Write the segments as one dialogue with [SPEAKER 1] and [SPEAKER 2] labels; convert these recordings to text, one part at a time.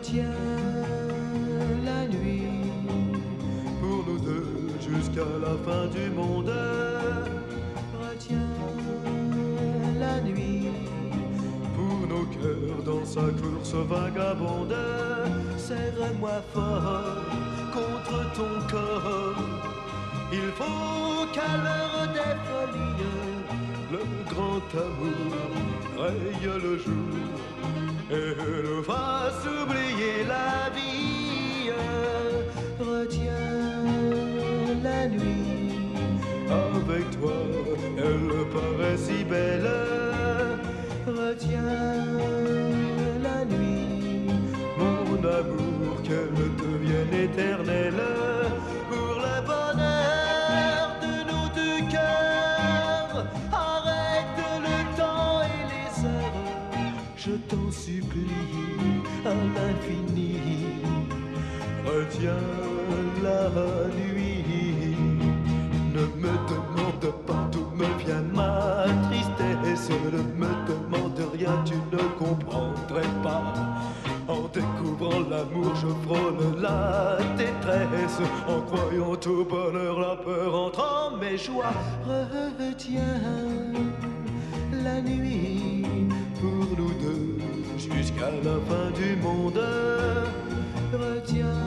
[SPEAKER 1] Retiens la nuit pour nous deux jusqu'à la fin du monde. Retiens la nuit pour nos cœurs dans sa course vagabonde. Serre-moi fort contre ton corps. Il faut qu'à l'heure des folies le grand amour raye le jour et nous fasse oublier la vie. Retiens la nuit, avec toi elle paraît si belle. Retiens la nuit, mon amour, qu'elle devienne éternelle. Pour le bonheur de nos deux cœurs, arrête le temps et les heures, je t'en supplie à l'infini. Retiens la nuit, ne me demande pas d'où me vient ma tristesse, ne me demande rien, tu ne comprendrais pas. En découvrant l'amour, je frôle la détresse. En croyant au bonheur, la peur entre en mes joies. Retiens la nuit pour nous deux jusqu'à la fin du monde. Retiens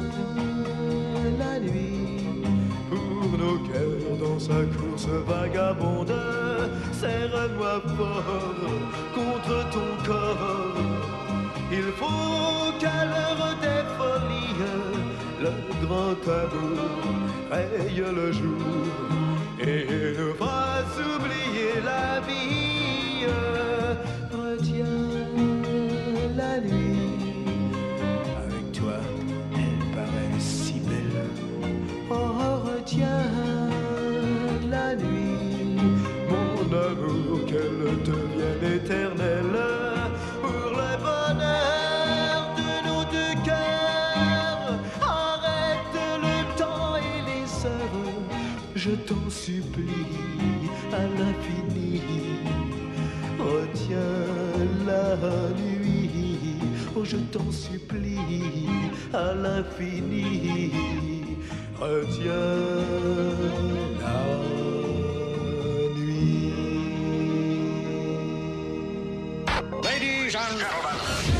[SPEAKER 1] la nuit pour nos cœurs dans sa course vagabonde. Serre-moi fort contre ton corps. Il faut qu'à l'heure des folies le grand amour raye le jour et nous fasse oublier la vie. Retiens la nuit, avec toi elle paraît si belle. Oh, retiens la nuit, mon amour, qu'elle devienne éternelle. Pour le bonheur de nos deux cœurs, arrête le temps et les heures, je t'en supplie à l'infini. Retiens la nuit, oh je t'en supplie à l'infini. Retiens la nuit.
[SPEAKER 2] Ladies and gentlemen.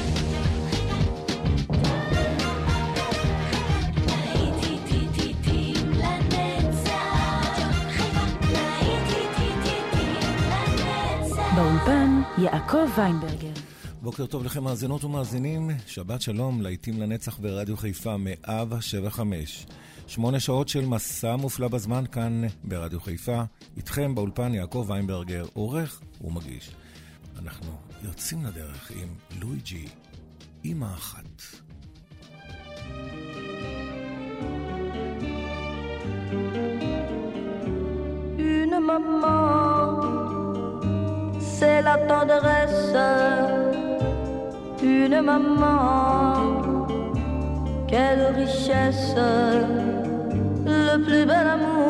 [SPEAKER 3] באולפן יעקב ויינברגר.
[SPEAKER 4] בוקר טוב לכם מאזינות ומאזינים, שבת שלום, להיטים לנצח ברדיו חיפה 175. 8 שעות של מסע מופלא בזמן כאן ברדיו חיפה, איתכם באולפן יעקב ויינברגר, עורך ומגיש. אנחנו יוצאים לדרך עם לואיג'י, אמא אחת.
[SPEAKER 5] Une maman, c'est la tendresse. Une maman, quelle richesse. Le plus bel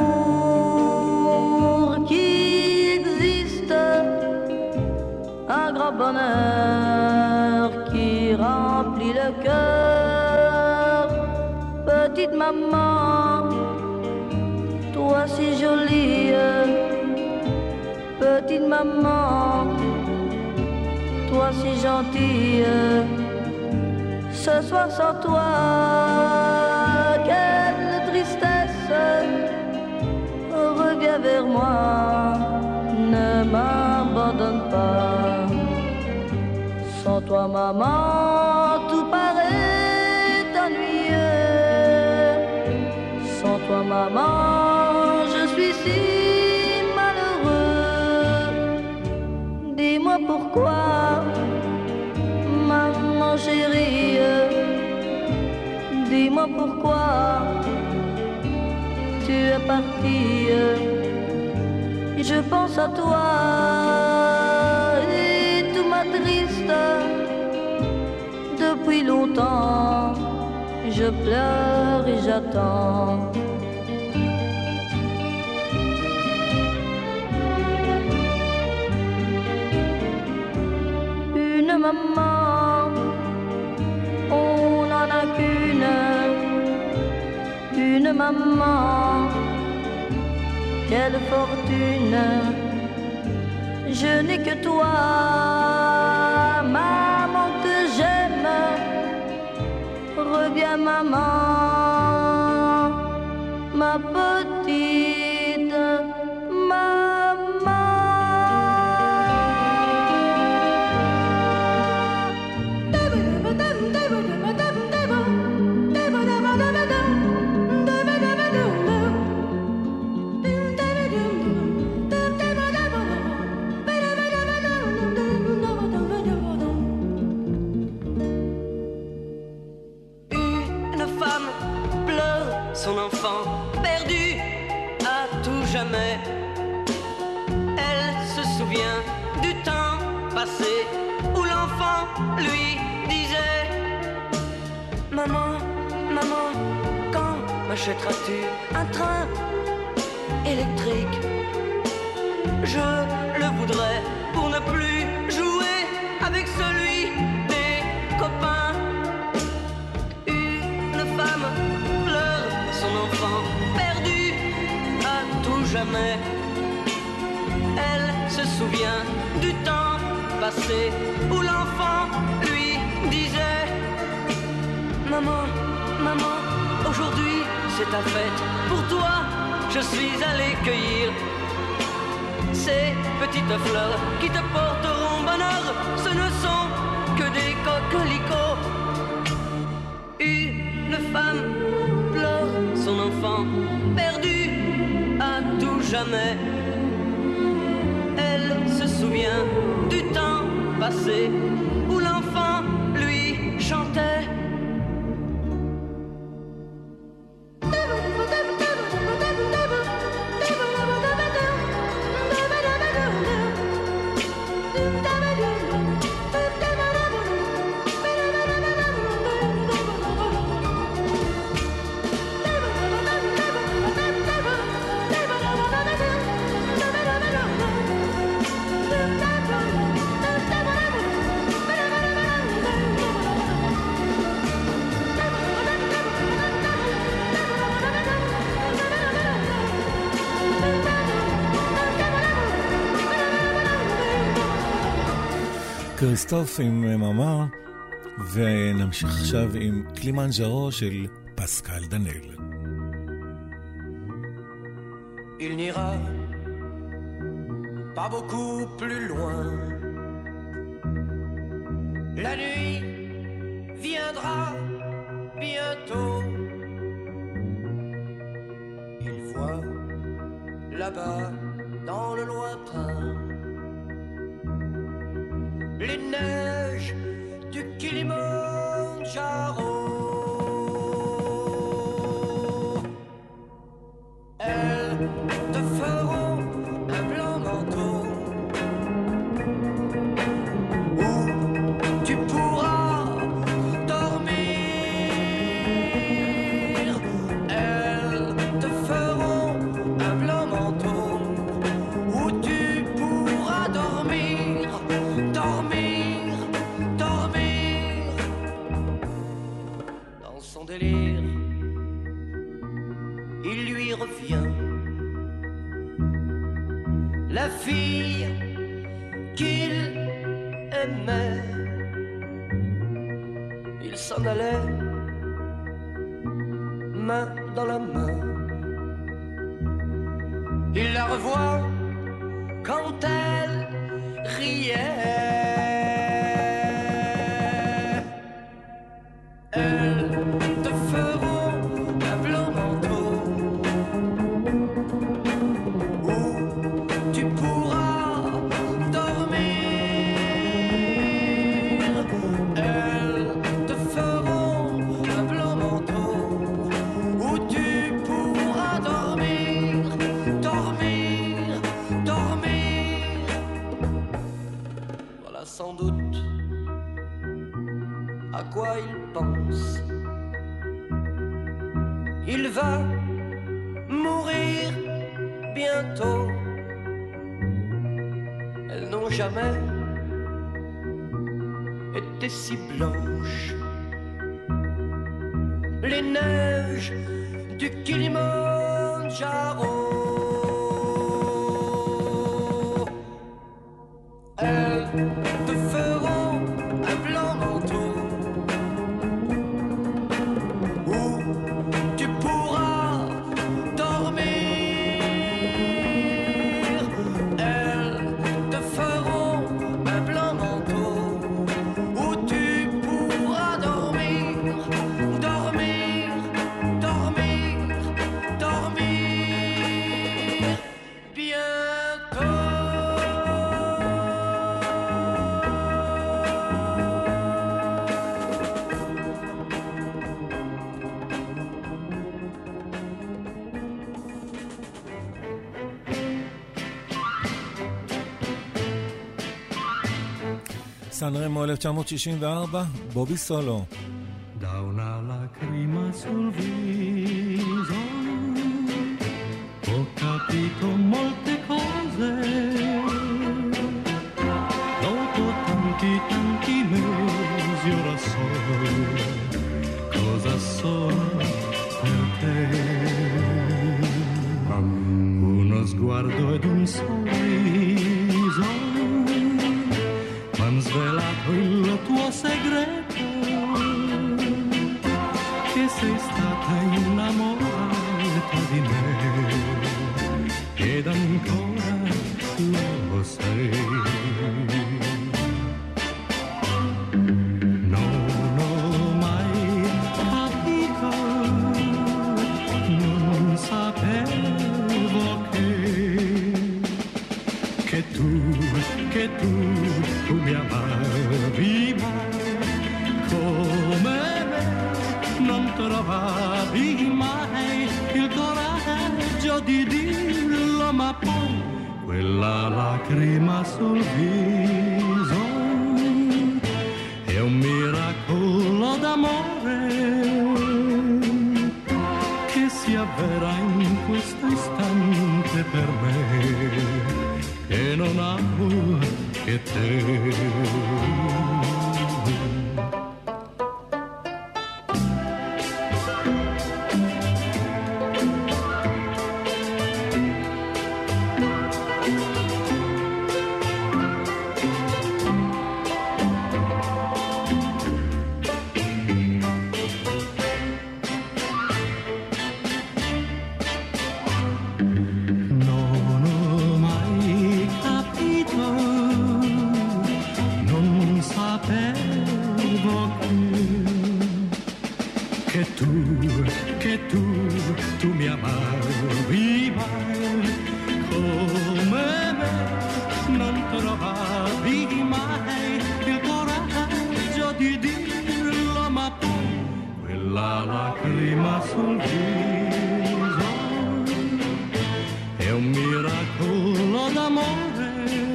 [SPEAKER 5] amour qui existe. Un grand bonheur qui remplit le cœur. Petite maman, toi si jolie. Petite maman, toi si gentille. Ce soir sans toi, quelle tristesse. Reviens vers moi, ne m'abandonne pas. Sans toi maman, tout paraît ennuyeux. Sans toi maman, je suis si malheureux. Dis-moi pourquoi, maman chérie. Dis-moi pourquoi tu es partie. Je pense à toi et tout m'attriste. Depuis longtemps, je pleure et j'attends. Une maman, on en quelle fortune. Je n'ai que toi, maman que j'aime. Reviens maman, ma petite maman.
[SPEAKER 6] Son enfant perdu à tout jamais. Elle se souvient du temps passé où l'enfant lui disait: Maman, maman, quand m'achèteras-tu un train électrique? Je le voudrais pour ne plus jouer avec celui des copains. Une femme pleure son enfant perdu à tout jamais. Elle se souvient du temps passé où l'enfant lui disait: Maman, maman, aujourd'hui c'est ta fête. Pour toi, je suis allé cueillir ces petites fleurs qui te porteront bonheur. Ce ne sont que des coquelicots. Une femme pleure son enfant perdu à tout jamais. Elle se souvient du temps passé où l'enfant lui chantait.
[SPEAKER 4] כריסטוף עם מאמה, ונמשיך עכשיו עם קלימנג'רו של פסקל דנל.
[SPEAKER 1] Il n'ira pas beaucoup plus loin. La nuit viendra bientôt. Il voit là-bas dans le lointain les neiges du Kilimandjaro. Elles te feront un blanc manteau où tu pourras dormir. Elles te feront un blanc manteau où tu pourras dormir, dormir, dormir. Dans son délire, il lui revient la fille qu'il aimait. Il s'en allait, main dans la main. Il la revoit quand elle riait. Elles te feront un blanc manteau où tu pourras dormir. Elles te feront un blanc manteau où tu pourras dormir, dormir, dormir. Voilà sans doute à quoi il pense. Il va mourir bientôt. Elles n'ont jamais été si blanches. Les neiges du Kilimandjaro.
[SPEAKER 4] סן-רמו 1964, בובי סולו.
[SPEAKER 7] Da una lacrima sul viso ho capito molte cose, dopo tanti mesi ora so cosa sono per te. Uno sguardo ed un sorriso m'han svelato il tuo segreto, che sei stata innamorata di me ed ancora lo sei. Non ho mai capito, non sapevo che tu mi amavi, ma come me non trovavi mai il coraggio di dirlo, ma poi quella lacrima sul viso è un miracolo d'amore che si avvera in questo istante per me, che non amo che te. Tu mi amavi, ma come me non trovavi mai il coraggio di dirlo, ma poi quella lacrima sul viso è un miracolo d'amore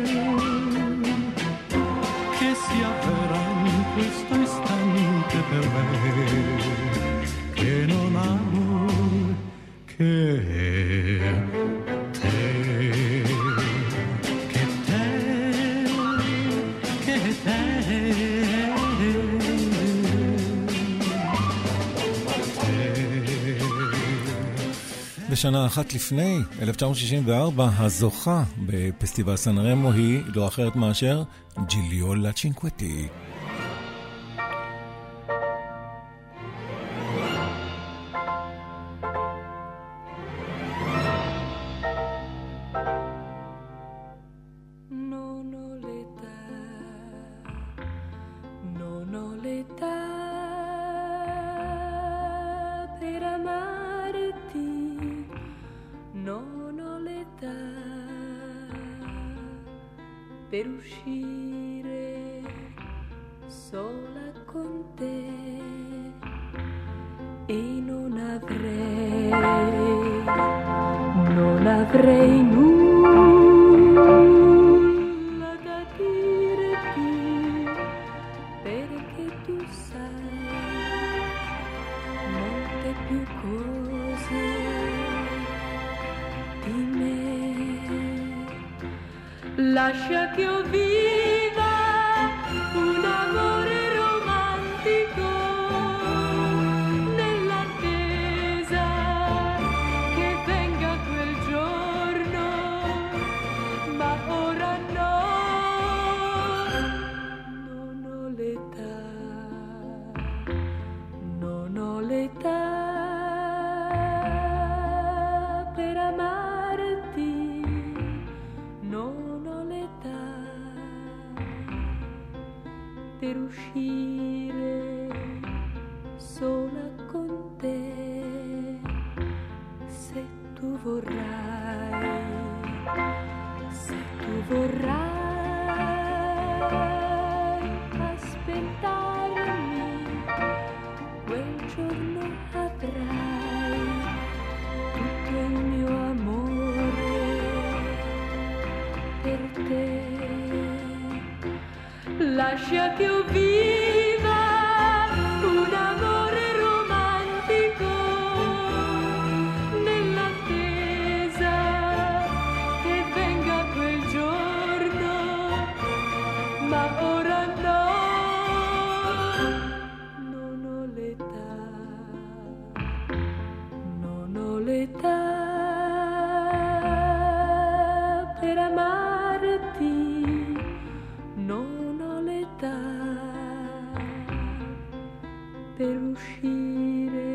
[SPEAKER 7] che si avvera in questo istante per me, che non amo che te, che te, che te.
[SPEAKER 4] בשנה אחת לפני, 1964, הזוכה בפסטיבל סן-רמו היא לא אחרת מאשר ג'יליו לה צ'ינקווטי.
[SPEAKER 5] Per uscire sola con te e non avrei nulla da dirti, perché tu sai molte più cose di me. Lascia che io viva un amore romantico nell'attesa che venga quel giorno, ma ora no, non ho l'età, non ho l'età per amarti, non ho l'età per uscire sola con te. Se tu vorrai, se tu vorrai aspettarmi, quel giorno avrai tutto il mio amore per te. lascia che io viva un amore romantico nell'attesa che venga quel giorno, ma ora no, non ho l'età, non ho l'età per amarti, non ho l'età per uscire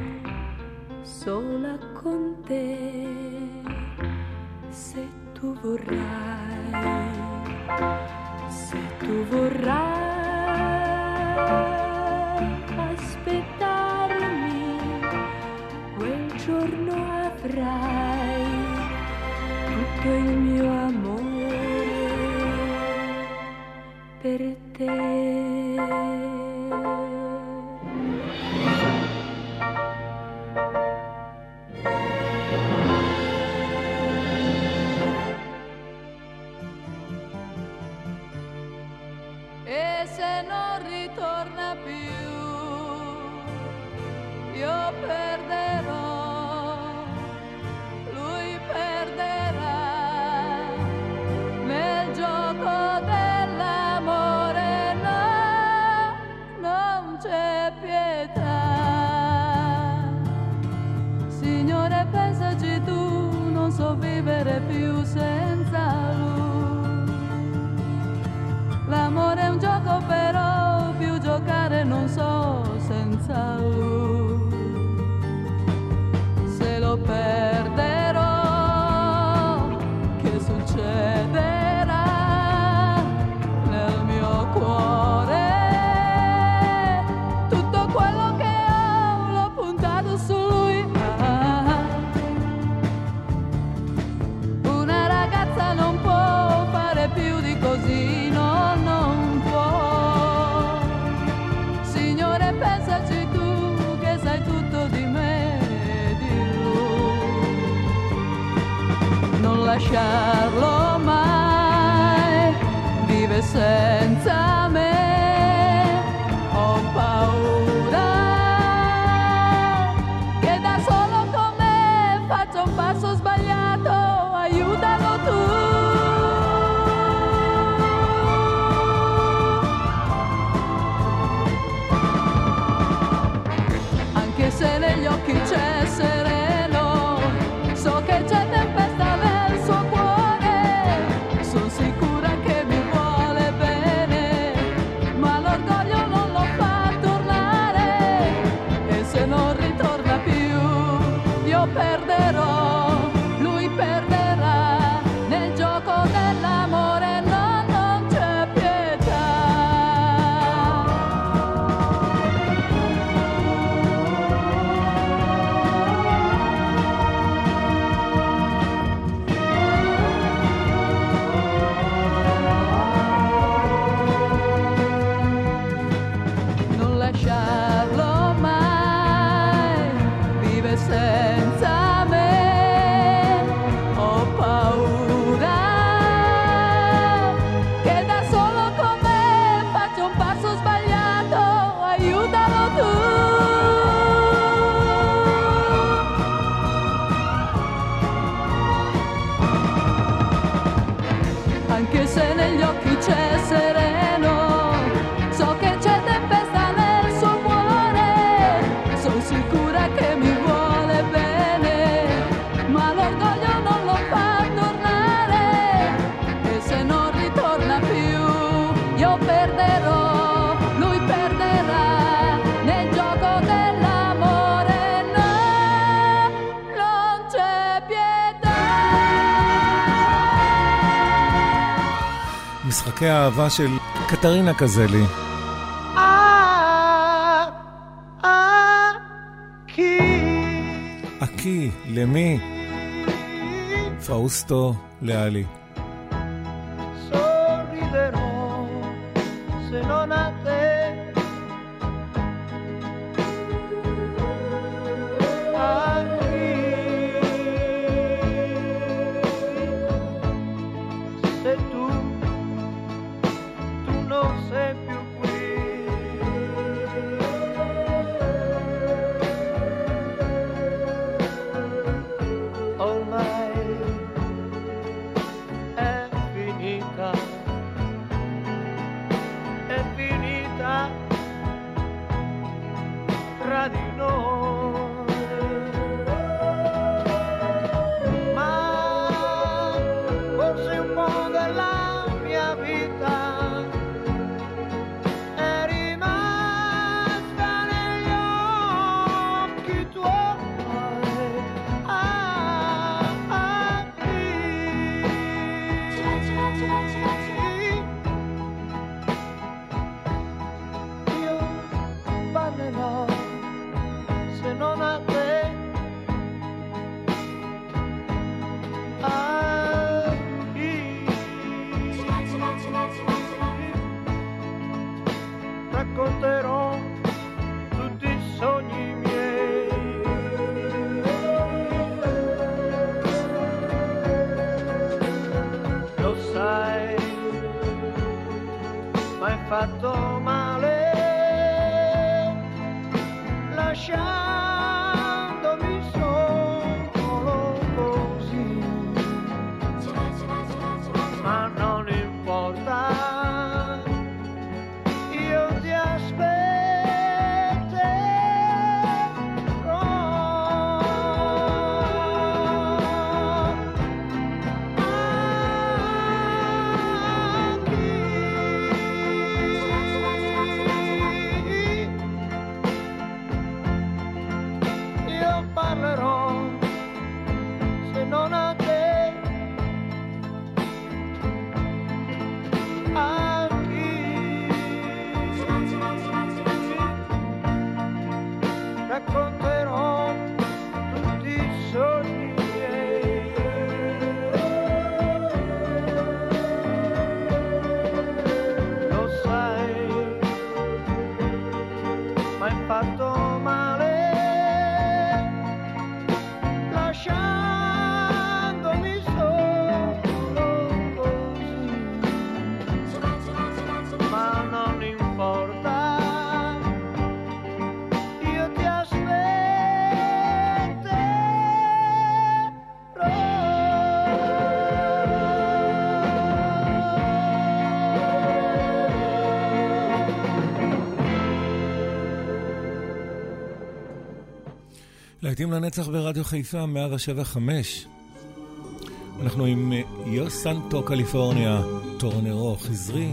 [SPEAKER 5] sola con te. Se tu vorrai, se tu vorrai aspettarmi, quel giorno avrai tutto il mio amore per te. E se non ritorna più, io perderò, lui perderà nel gioco dell'amore. No, non c'è pietà. Signore, pensaci tu, non so vivere più senza lui. L'amore è un gioco, però più giocare non so senza lui. Se lo perderò, che succederà nel mio cuore? Tutto quello che ho l'ho puntato su lui. Una ragazza non può fare più di così, no, non può. Signore, pensaci tu, che sai tutto di me e di lui. Non lasciarlo mai, vive senza me. Ho paura che da solo con me faccia un passo sbagliato. Aiutalo tu. Anche se negli occhi c'è sereno, so che c'è tempesta nel suo cuore. Sono sicura che mi vuole bene, ma l'orgoglio non lo fa tornare. E se non ritorna più, io perderò, lui perderà nel gioco dell'amore. No, non c'è pietà. Non lasciarlo mai, vive senza me. Ho paura che da solo con me faccia un passo sbagliato. Aiutalo tu. Anche se negli occhi c'è sereno, so che c'è tempesta nel suo cuore. Sono sicura che mi vuole bene, ma l'orgoglio non lo fa tornare. E se non ritorna più, io perderò, lui perderà nel gioco dell'amore. No, non c'è pietà.
[SPEAKER 4] משחקי האהבה של קטרינה קזלי. אקי, למי? פאוסטו לאלי.
[SPEAKER 8] Sorriderò se non a te. Se tu non sei fatto male, lasciandomi solo così, ma non importa, io ti aspetterò. Parlerò se non a te, a chi racconterò tutti i sogni miei. Lo sai, ma hai fatto male, lasciandomi solo così, ma non importa, io ti
[SPEAKER 4] להיטים לנצח ברדיו חיפה 107.5. אנחנו עם יו סנטו קליפורניה, טורנרו, חזרי.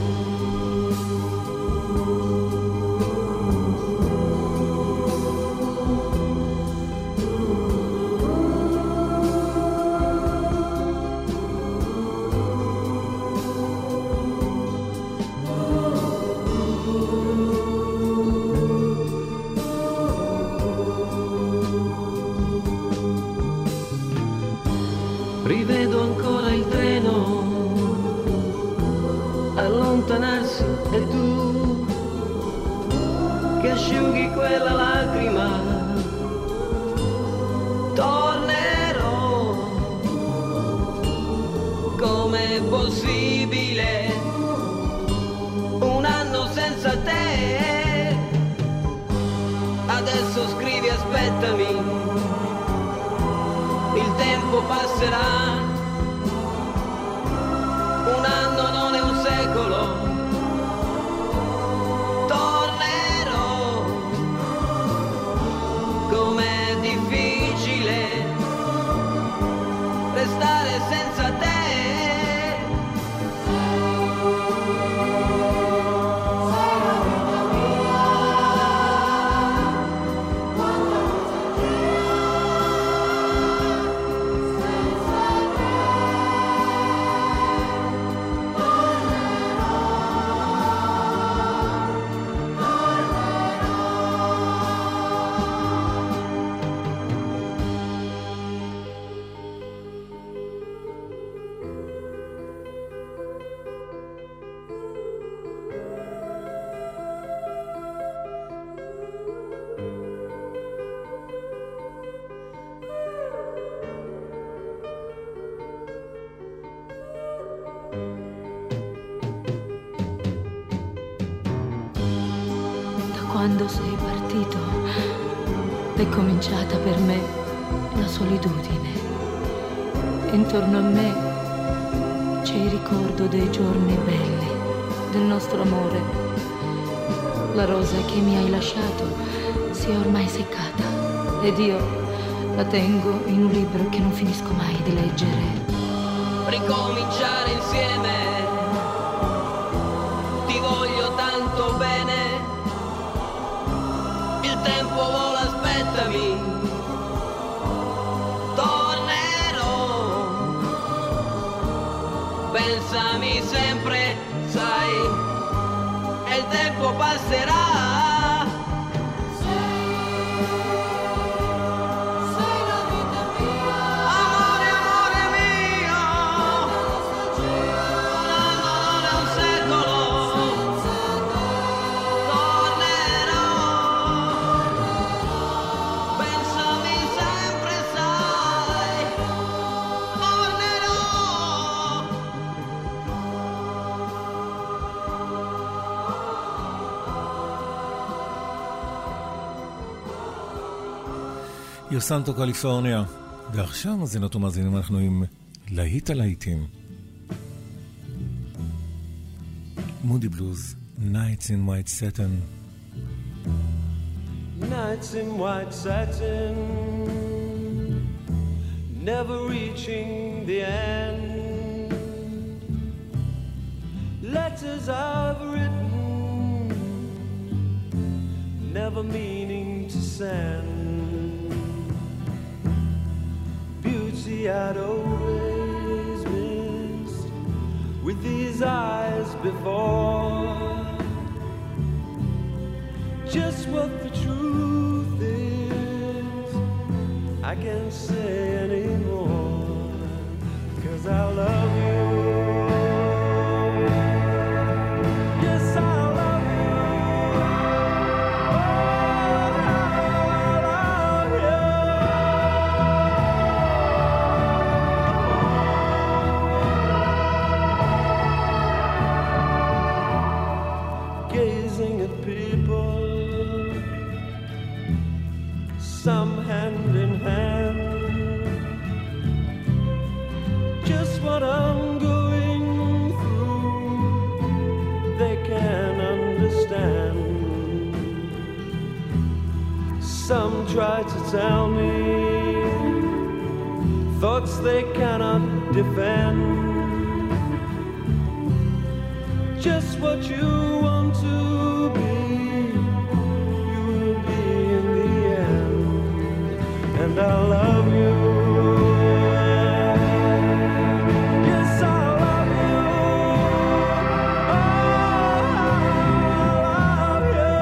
[SPEAKER 6] Rivedo ancora il treno allontanarsi e tu che asciughi quella lacrima. Tornerò, com'è possibile un anno senza te? Adesso scrivi aspettami, il tempo passerà, un anno non è un secolo, tornerò, com'è difficile restare senza te.
[SPEAKER 3] Quando sei partito è cominciata per me la solitudine. Intorno a me c'è il ricordo dei giorni belli, del nostro amore. La rosa che mi hai lasciato si è ormai seccata ed io la tengo in un libro che non finisco mai di leggere.
[SPEAKER 6] Ricominciare insieme, ti voglio tanto bene. Il tempo vola, aspettami, tornerò, pensami sempre, sai, e il tempo passerà.
[SPEAKER 4] יוסנטו קליפורניה. ועכשיו מאזינות ומאזינים אנחנו עם להיט הלהיטים. מודי בלוז, Nights in White Satin.
[SPEAKER 8] Nights in white satin, never reaching the end. Letters I've written, never meaning to send. Beauty I'd always missed with these eyes before. Just what the truth is, I can't say anymore, 'cause I love you. Yes, I love you. Oh, I love you. Gazing at people, some hand in hand, just what I'm going through, they can understand. Some try to tell me thoughts they cannot defend. Just what you want to be, you will be in the end. And I love you. Yes, I love you. Oh, I love you.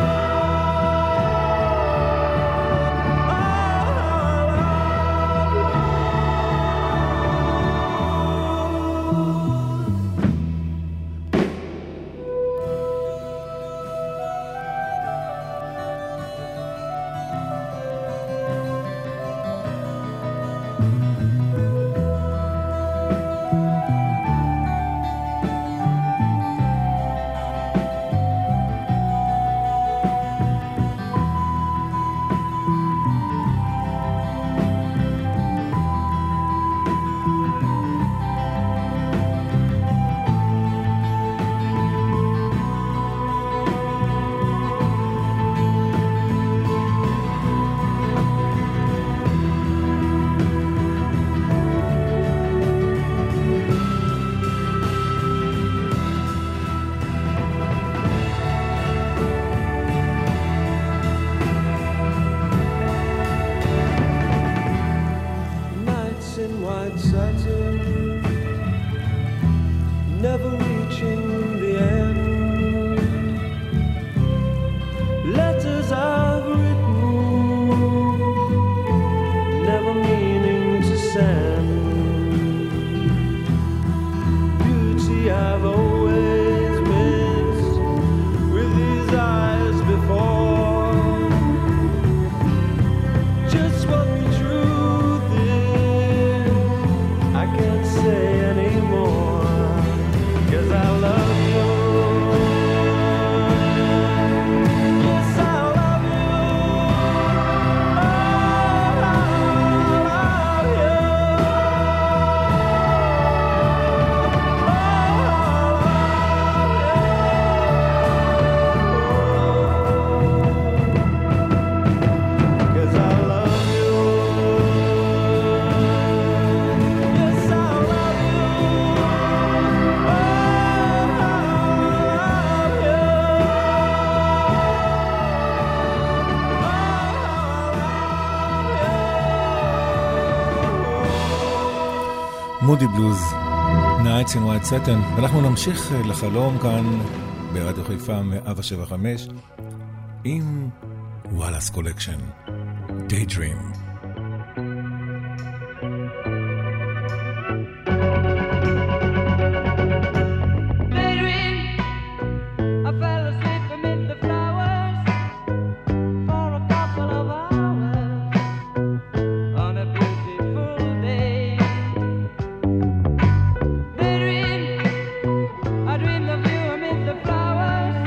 [SPEAKER 8] Never reaching the end. Letters I've written, never meaning to send. Beauty I've always missed with these eyes before. Just what the truth is, I can't say anymore. 'Cause I love you. Yes, I love you. Oh, I love you.
[SPEAKER 4] מודי בלוז, Nights in White Satin, ואנחנו נמשיך לחלום כאן ברדיו חיפה 175 עם וואלאס קולקשן, Daydream.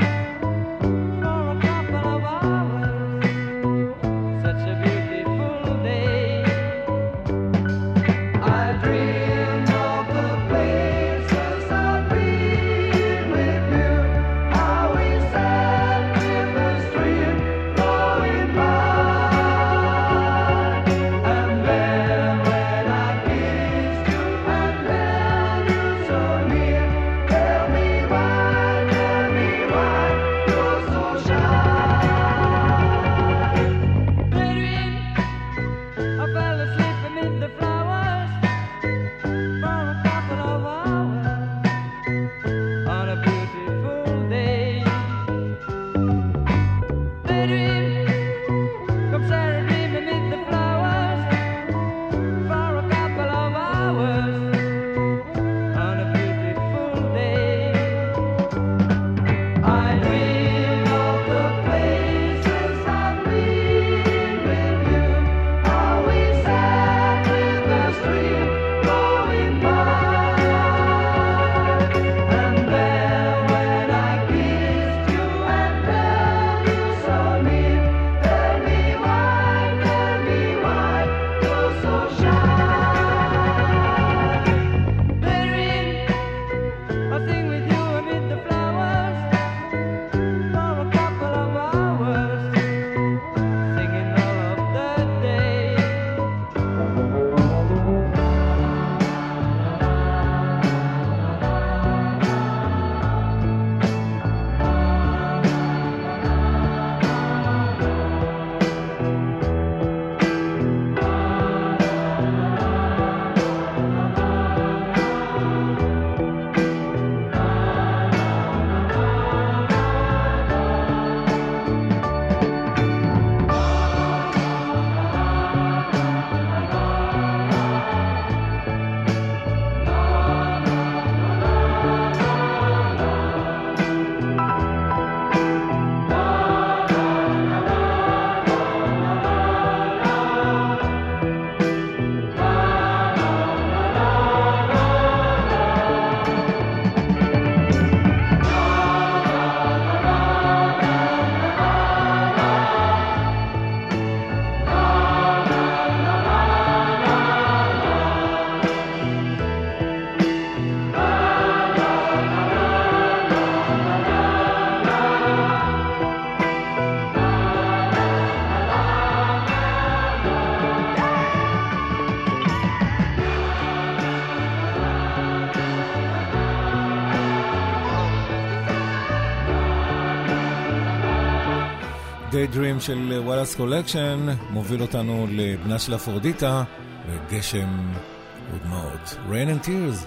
[SPEAKER 5] Such a beautiful
[SPEAKER 4] Daydream של וואלאס קולקשן מוביל אותנו לבנה של אפרודיטה וגשם ודמעות. Rain and Tears.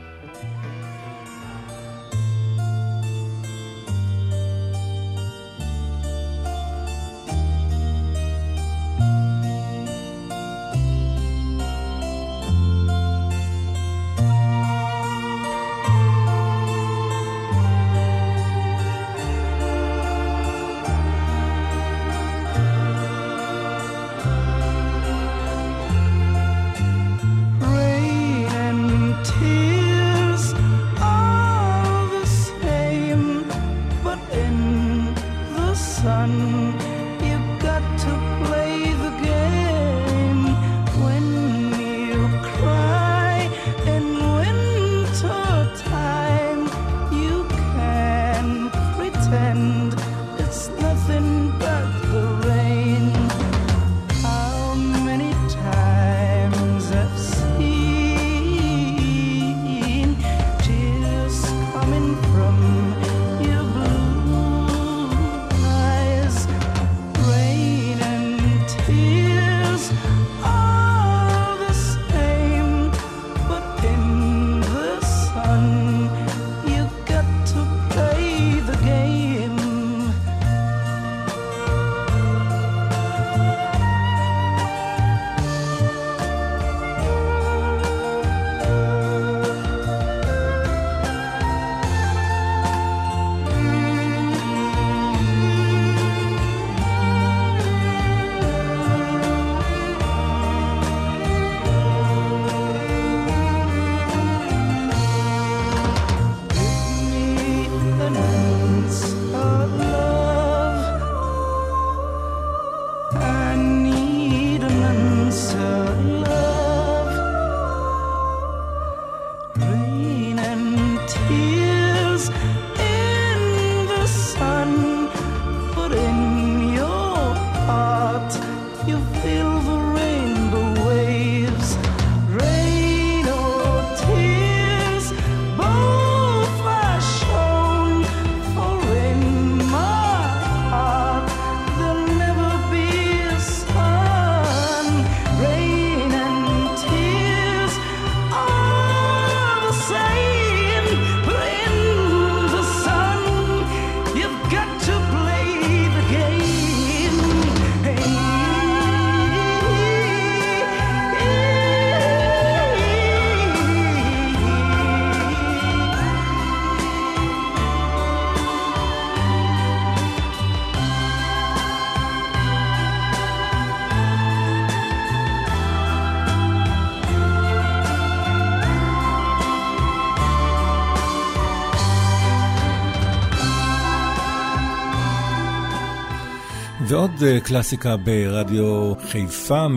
[SPEAKER 4] ועוד קלאסיקה ברדיו חיפה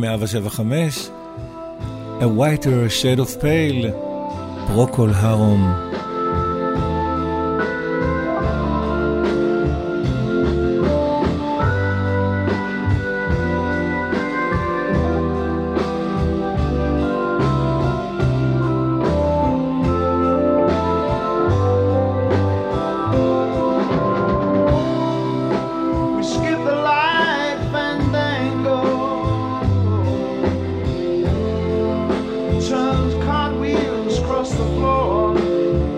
[SPEAKER 4] 175, A Whiter Shade of Pale, פרוקול הרום.
[SPEAKER 8] Cartwheels across the floor.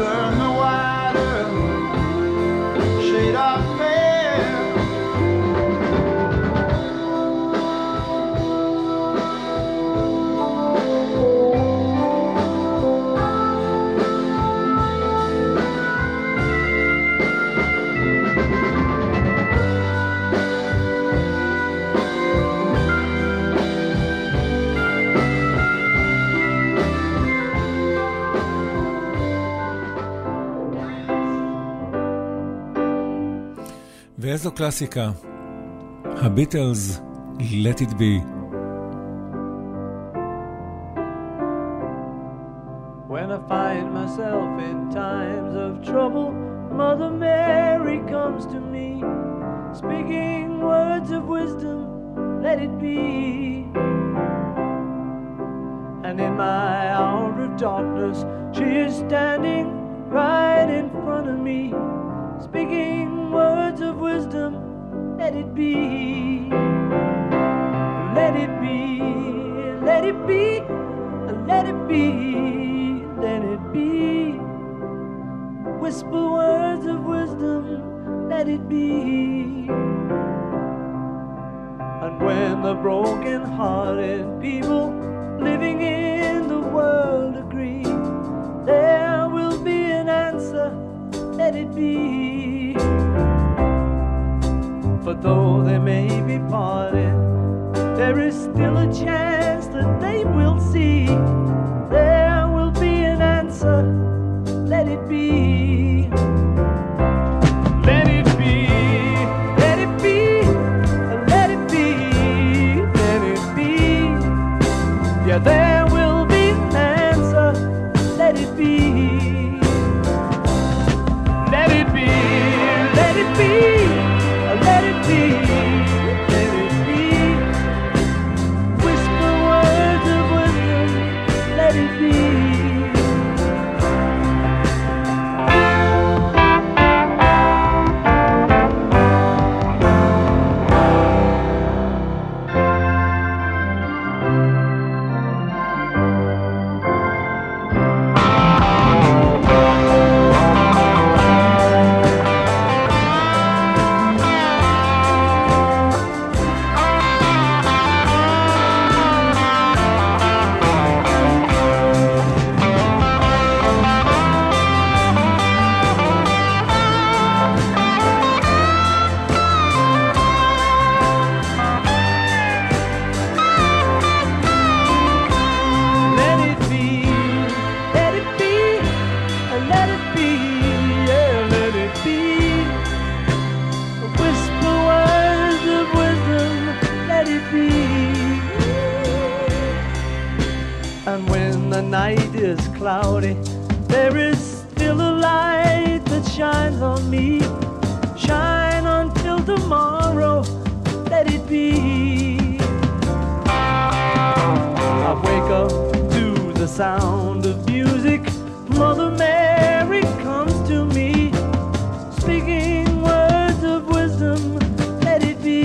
[SPEAKER 9] turn the wider shade of pale.
[SPEAKER 4] ואיזו קלאסיקה, הביטלס, Let It Be.
[SPEAKER 8] When I find myself in times of trouble, Mother Mary comes to me, speaking words of wisdom, let it be. And in my hour of darkness, she is standing right in front of me, speaking words of wisdom, let it be. Let it be, let it be, let it be, let it be. Whisper words of wisdom, let it be. And when the broken-hearted people living in the world agree, there will be an answer, let it be. For though they may be parted, there is still a chance that they will see. There will be an answer, let it be. Let it be, let it be, let it be, let it be. Yeah, there will be an answer, let it be. Let it be, let it be. Let it be, let it be. Whisper words of wisdom, let it be. Cloudy, there is still a light that shines on me. Shine until tomorrow, let it be. I wake up to the sound of music. Mother Mary comes to me, speaking words of wisdom, let it be.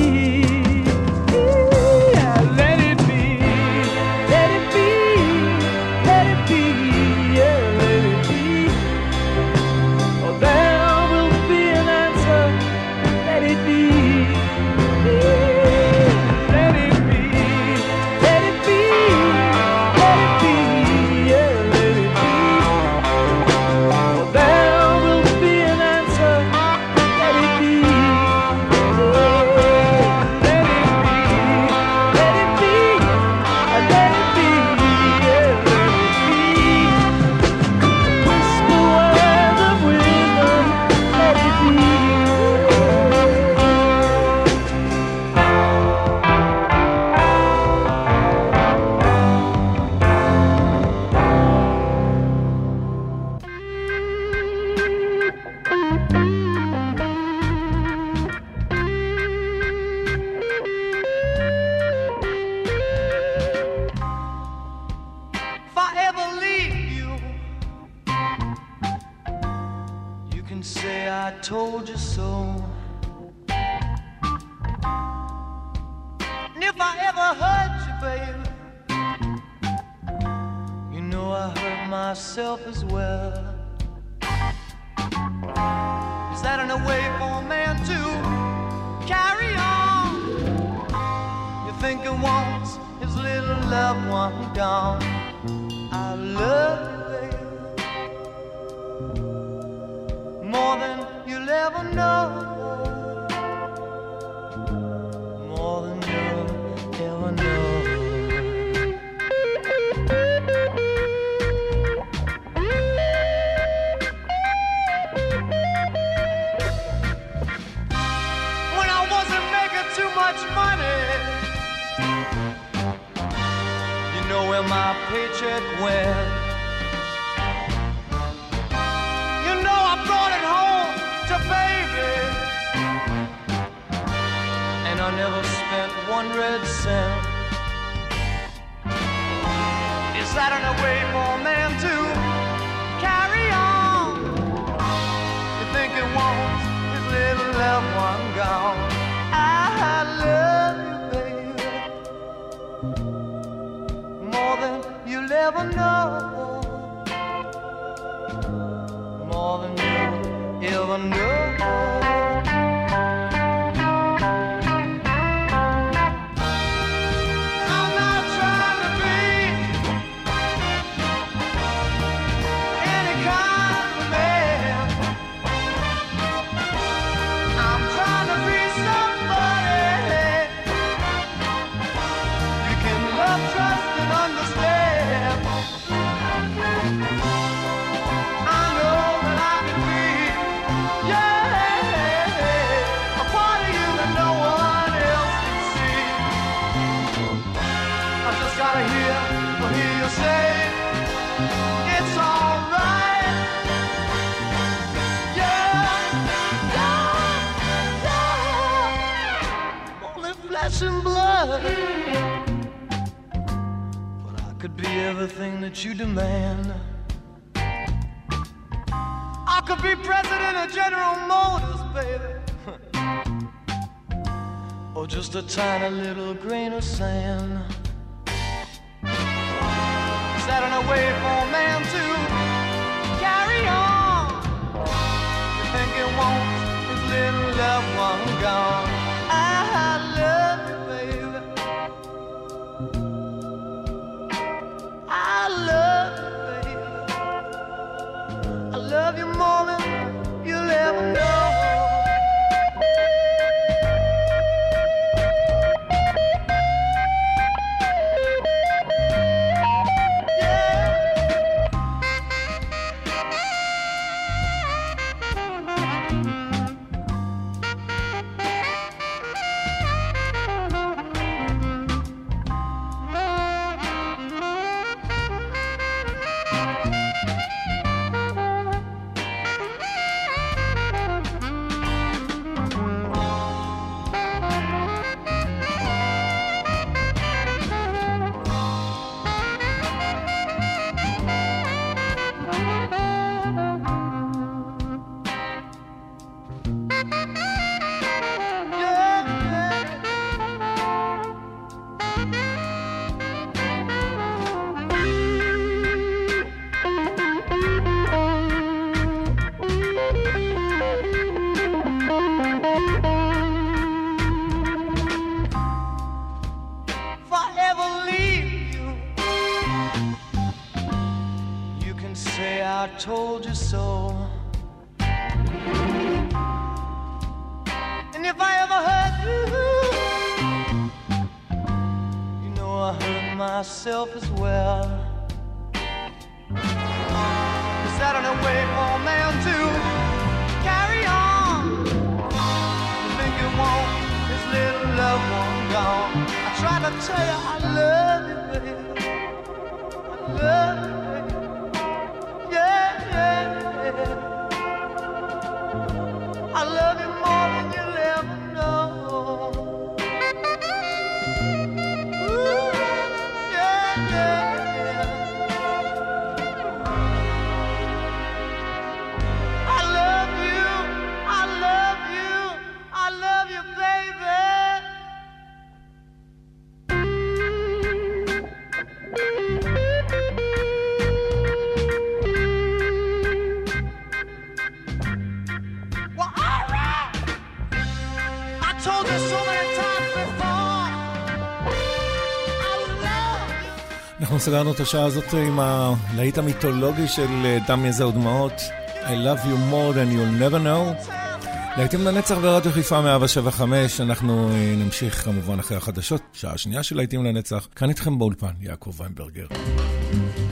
[SPEAKER 8] Yeah, let it be, let it be, let it be. Told you so. And if I ever hurt you, baby, you know I hurt myself as well.
[SPEAKER 9] that in a way for a man to carry on? You think he wants his little loved one gone? I love you, baby, more than you'll ever know, more than you'll ever know. When I wasn't making too much money, you know where my paycheck went. You know I brought it home to baby, and I never spent one red cent. Is that in a way for a man to carry on? You think he wants his little loved one gone? I love you, baby, more than you'll ever know, more than you'll ever know. I'm not trying to be any kind of man. I'm trying to be somebody you can love, trust, and understand. I know that I can be, yeah, a part of you that no one else can see. I just gotta hear you say it's alright. Yeah, yeah, yeah. Only flesh and blood, but I could be everything that you demand. I could be president of General Motors, baby, or just a tiny little grain of sand. Is that in a way for a man to carry on? You think he wants his little loved one gone? I love you, baby, I love you, baby, I love you more than you'll ever know. I told you so. And if I ever hurt you, you know I hurt myself as well. Is that in a way for a man to carry on? You think you want his little loved one gone? I try to tell you I love you, baby, I love you. I love you more than you'll ever know. Ooh, yeah, yeah, yeah. I love you, I love you, I love you, baby. told you so many times before. I love.
[SPEAKER 4] אנחנו סגרנו את השעה הזאת עם הלהיט המיתולוגי של דם יזע ודמעות, I love you more than you'll never know. להיטים לנצח ברדיו חיפה 175. אנחנו נמשיך כמובן אחרי החדשות, שעה שנייה של להיטים לנצח. כאן איתכם באולפן יעקב ויינברגר.